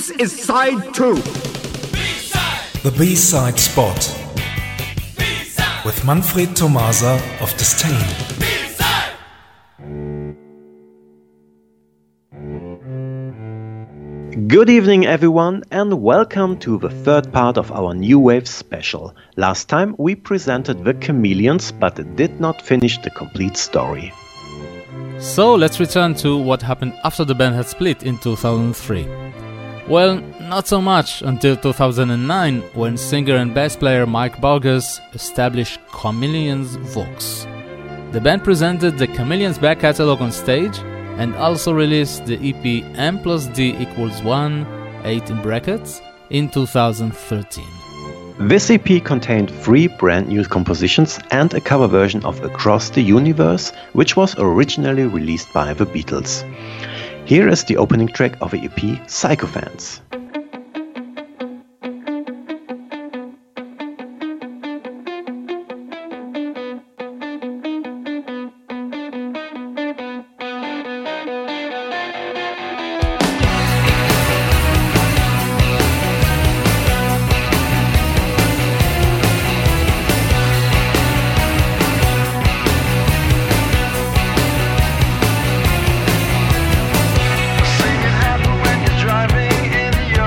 This is side 2. B-side. The B-side spot. B-side. With Manfred Tomasa of Disdain. B-side. Good evening everyone and welcome to the third part of our New Wave special. Last time we presented the Chameleons but did not finish the complete story. So let's return to what happened after the band had split in 2003. Well, not so much until 2009 when singer and bass player Mike Burgess established Chameleons Vox. The band presented the Chameleons back catalog on stage and also released the EP M+D=1, 8 in brackets, in 2013. This EP contained 3 brand new compositions and a cover version of Across the Universe, which was originally released by the Beatles. Here is the opening track of the EP, Sycophants. Driving in your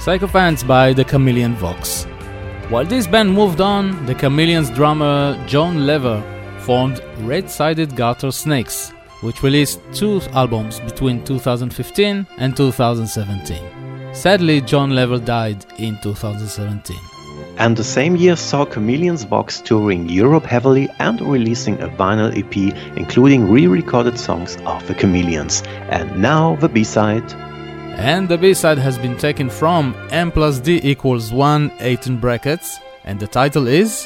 Sycophants by the Chameleon Vox. While this band moved on, the Chameleons drummer John Lever formed Red-Sided Garter Snakes, which released 2 albums between 2015 and 2017. Sadly, John Lever died in 2017. And the same year saw Chameleons Vox touring Europe heavily and releasing a vinyl EP including re-recorded songs of the Chameleons. And now the B-side. And the B-side has been taken from M plus D equals 1, 8 in brackets, and the title is...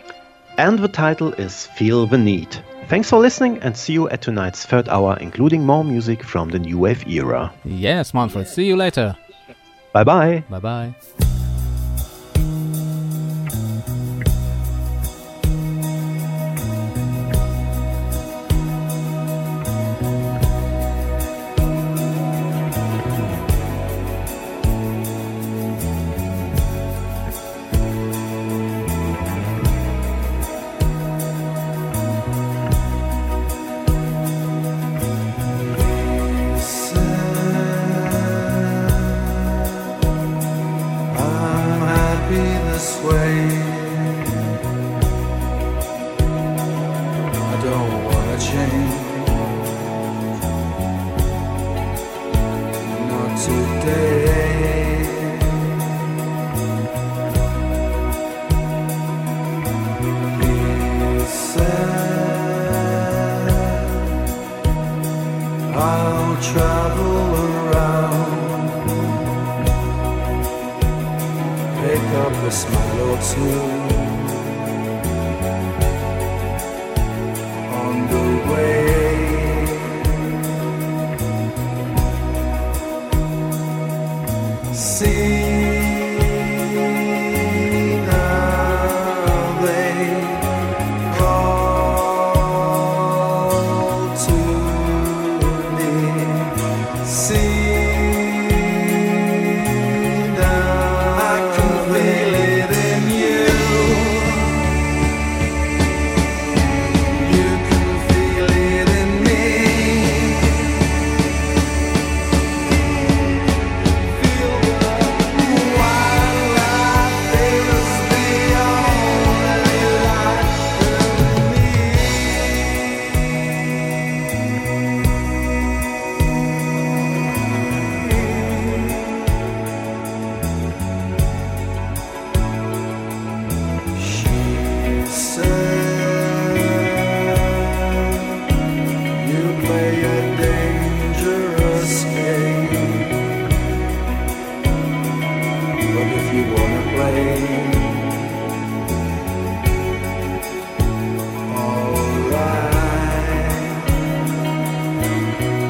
And the title is Feel the Need. Thanks for listening and see you at tonight's third hour, including more music from the new wave era. Yes, Manfred, see you later. Bye bye. Bye bye.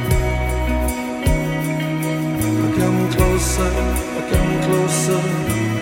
I come closer,